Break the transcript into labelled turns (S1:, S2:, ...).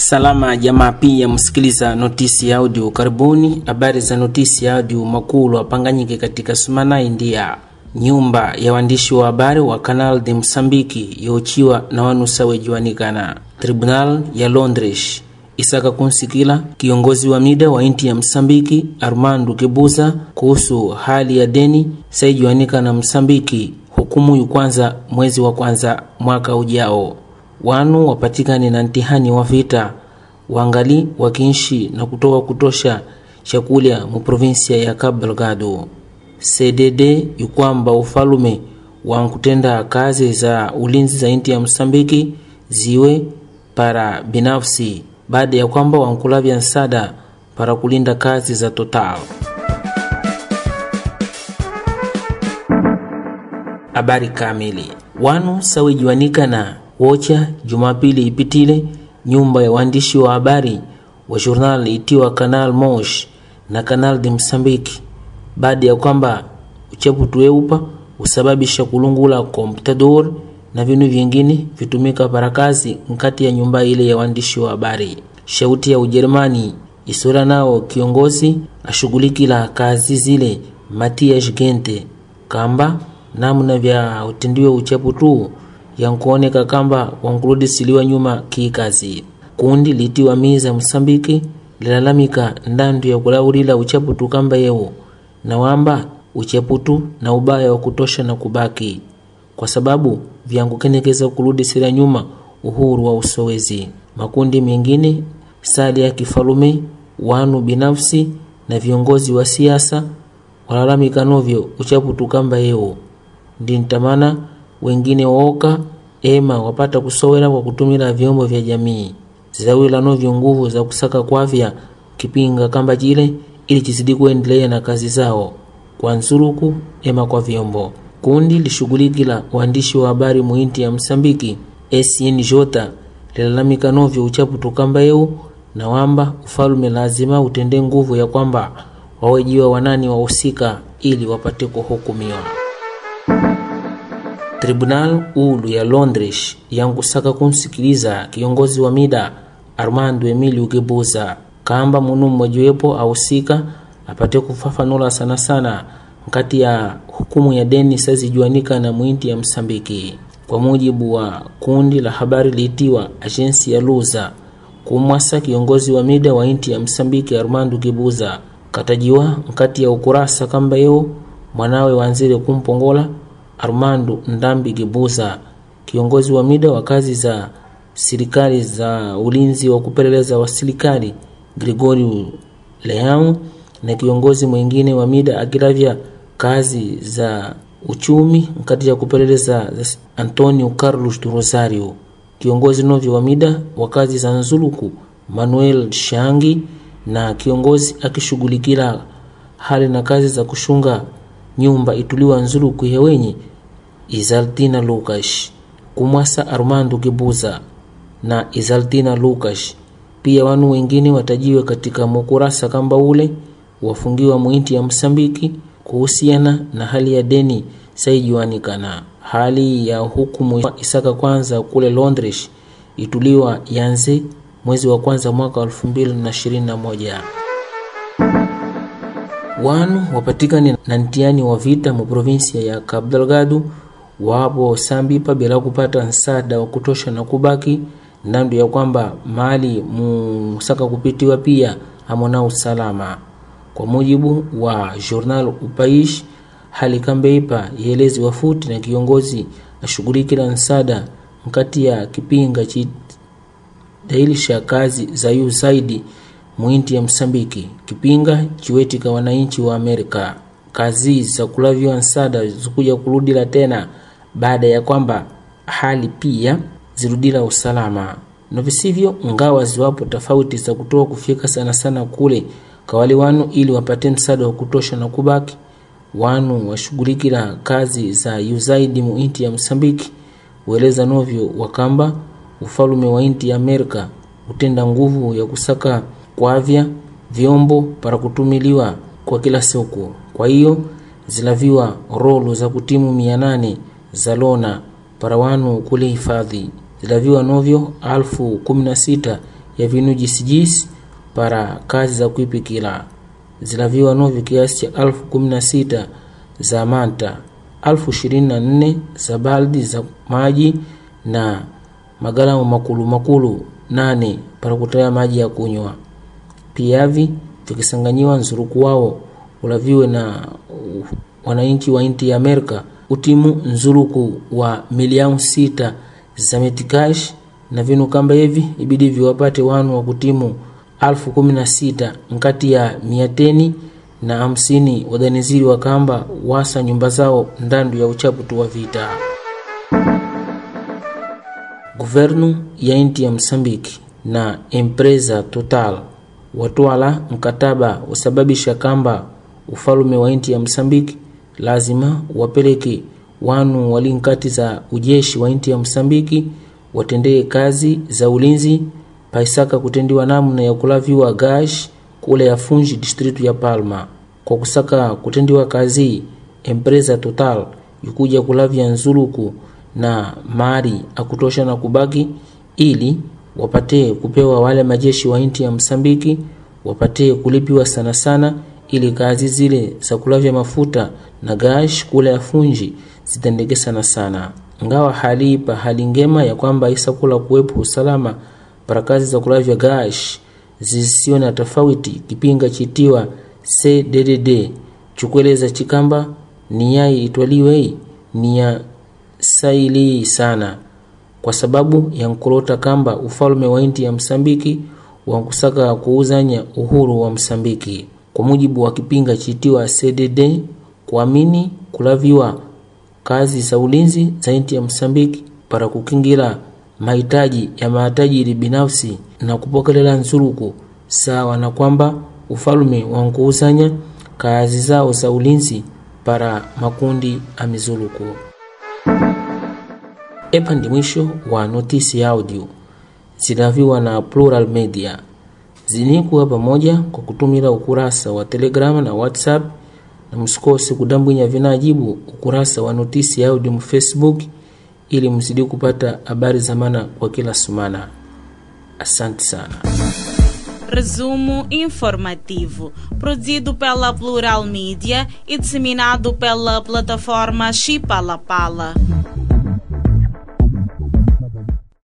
S1: Salama jamaa, pia msikiliza notisi ya audio. Karibuni habari za notisi ya audio makulu apanganyike katika Sumana, India. Nyumba ya waandishi wa habari wa Canal de Msambiki yochiwa na wanusawe juanikana. Tribunal ya Londres isaka kunsikila kiongozi wa mida wa inti ya Msambiki Armando Guebuza kuhusu hali ya deni saijuanikana Msambiki. Hukumu yu kwanza mwezi wa kwanza mwaka ujao. Wanu wapatikani na ntihani wa vita wangali wakinshi na kutoka kutosha chakula mu provinsia ya Cabo Delgado. CDD yukwamba ufalume wa kutenda kazi za ulinzi za inti ya Msambiki ziwe para binafsi baada ya kwamba wankulavya nsada para kulinda kazi za Total. Habari kamili. Wanu sawijuanika na wocha Jumapili ipitile nyumba ya waandishi wa habari wa journal itiwa Canal Mosh na Canal de Msambiki baada ya kwamba uchapu tuweupa usababisha kulungula komputador na vinu vingine vitumika para kazi nkati ya nyumba ile ya waandishi wa habari. Shauti ya Ujerumani isura nao kiongozi ashughulikila kazi zile Matthias Gente kamba namna vya utendiwe uchapu tu yankuoneka kamba wankurudisiliwa nyuma kikazi. Kundi litiwa miza Msambiki lilalamika ndandu ya kulaurila uchaputu kamba yeo na wamba uchaputu na ubaya wa kutosha na kubaki kwa sababu vyangukenekeza kurudisila nyuma uhuru wa usowezi. Makundi mengine sali ya kifalume, wanu binafsi na viongozi wa siasa walalamika novyo uchaputu kamba yeo. Ndintamana wengine waoka ema wapata kusowela kwa kutumila vyombo vya jamii zawila novyo nguvu za kusaka kwavya kipinga kamba jile ili chizidi kuendelea na kazi zao kwa nsuruku ema kwa vyombo. Kundi lishughulikila waandishi wa habari muinti ya Msambiki SNJ lilalamika novyo uchaputu kamba yeo na wamba ufalume lazima utende nguvu ya kwamba wawejiwa wanani wahusika ili wapate kuhukumiwa. Tribunal ulu ya Londres yankusaka kunsikiliza kiongozi wa mida Armando Emilio Guebuza kamba munu mmojewepo ahusika apate kufafanula sana mkati ya hukumu ya deni sazijuanika na muinti ya Msambiki. Kwa mujibu wa kundi la habari liitiwa Agensi ya Luza, kumwasa kiongozi wa mida wa inti ya Msambiki Armando Guebuza katajiwa mkati ya ukurasa kamba yeo mwanawe wanzile kumpongola Armando Ndambi Guebuza, kiongozi wa mida wa kazi za serikali za ulinzi wa kupeleleza wa serikali Gregorio Leão na kiongozi mwingine wa mida akilavya kazi za uchumi mkati ya kupeleleza Antonio Carlos do Rosario, kiongozi novyo wa mida wa kazi za nzuluku Manuel Shangi na kiongozi akishughulikila hali na kazi za kushunga nyumba ituliwa nzuluku ya wenye Izaltina Lucas. Kumwasa Armando Guebuza na Izaltina Lucas pia wanu wengine watajiwe katika mukurasa kamba ule wafungiwa muinti ya Msambiki kuhusiana na hali ya deni saijuanikana. Hali ya hukumu isaka kwanza kule Londres ituliwa yanze mwezi wa kwanza mwaka 2021. Wanu wapatikani na ntiani wa vita mu provinsia ya Cabo Delgado wapo sambipa bila kupata nsada wa kutosha na kubaki ndandu ya kwamba mali musaka kupitiwa pia hamona usalama. Kwa mujibu wa journal Upaish, hali kambeipa yelezi wafuti na kiongozi ashughulikila nsada mkati ya kipinga chidailisha kazi za USAID muinti ya Msambiki. Kipinga chiwetika wananchi wa Amerika kazi za kulavyo nsada zikuja kurudila tena baada ya kwamba hali pia zirudila usalama. Na visivyo ngawa ziwapo tofauti za kutoa kufika sana kule kwa wale wanu ili wapate msaada wa kutosha na kubaki. Wanu washughulikila kazi za USAID muinti ya Msambiki ueleza novyo wakamba ufalume wa inti ya Amerika utenda nguvu ya kusaka kwavya vyombo para kutumiliwa kwa kila siku. Kwa hiyo zilaviwa rolo za kutimu 800 za lona para wanu kule hifadhi. Zilaviwa novyo 16,000 ya vinu jisijisi para kazi za kuipikila. Zilaviwa novi kiasi cha 16,000 za manta, 24,000 za baldi za maji na magalamu makulu 8 para kutaya maji ya kunywa. Piavi vikisanganyiwa nzuruku wao ulaviwe na wananchi wa inti ya Amerika utimu nzuruku wa milioni 6 za metikash, na vinu kamba hivi ibidi viwapate wanu wa kutimu 16,000 nkati ya 150 wadaniziri wa kamba wasa nyumba zao ndandu ya uchaputu wa vita. Guvernu ya inti ya Msambiki na empresa Total watwala mkataba usababisha kamba ufalume wa inti ya Msambiki lazima wapeleke wanu walinkati za ujeshi wa inti ya Msambiki watendee kazi za ulinzi paisaka kutendiwa namna ya kulaviwa gash kule ya Fungi district ya Palma. Kwa kusaka kutendiwa kazi, empresa Total yukuja kulavia nzuluku na mari akutosha na kubaki ili wapate kupewa wale majeshi wa inti ya Msambiki wapate kulipiwa sana ili kazi zile za kulavia mafuta na gash kule ya Fungi zitendeke sana. Ngawa hali ngema ya kwamba isakula kuwepo usalama para kazi za kulavia gash zisio na tofauti, kipinga chitiwa CDDD chukweleza chikamba ni yai itwaliwe ni ya saili sana, kwa sababu ya nkulota kamba ufalume wa inti ya Msambiki wankusaka kuuzanya uhuru wa Msambiki. Kwa mujibu wa kipinga chitiwa CDD, kuamini kulaviwa kazi za ulinzi za inti ya Msambiki para kukingira mahitaji ya matajiri binafsi na kupokelela nzuruku sawa na kwamba ufalume wankuuzanya kazi zao za ulinzi para makundi amizuluku. Epa ndi mwisho wa notisi ya audio zilaviwa na Plural Media. Zinikuwa pamoja kwa kutumila ukurasa wa Telegram na WhatsApp, na msikose kudambwinya vinajibu ukurasa wa notisi ya audio mu Facebook ili mzidi kupata habari za maana kwa kila sumana. Asante sana.
S2: Resumo informativo, produzido pela Plural Media e disseminado pela plataforma Chipalapala.